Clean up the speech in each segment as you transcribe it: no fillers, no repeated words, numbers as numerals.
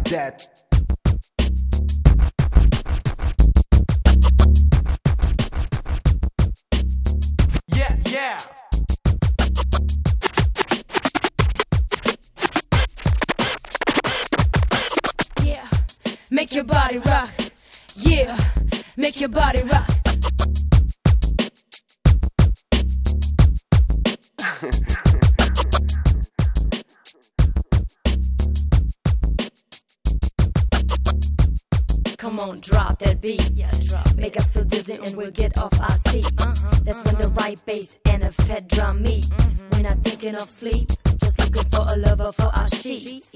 that. Yeah, yeah. Yeah, make your body rock. Yeah, make your body rock. Come on, drop that beat. Yeah, make us feel dizzy and we'll get off our seats. That's when the right bass and a fat drum meet. We're not thinking of sleep, just looking for a lover for our sheets.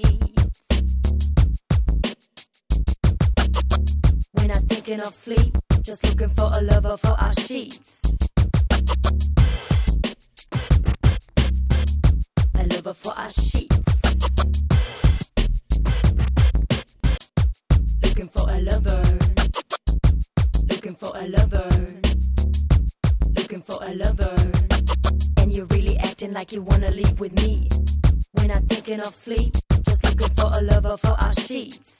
We're not thinking of sleep, just looking for a lover for our sheets. A lover for our sheets. Looking for a lover. Looking for a lover. Looking for a lover. And you're really acting like you wanna leave with me. We're not thinking of sleep, just looking for a lover for our sheets.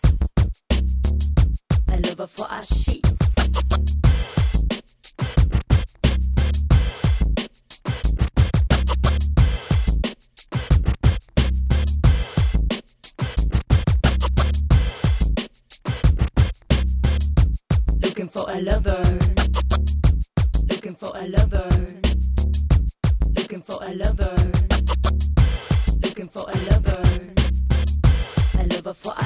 A lover for our sheets. Looking for a lover. Looking for a lover. Looking for a lover. Looking for a lover. A lover for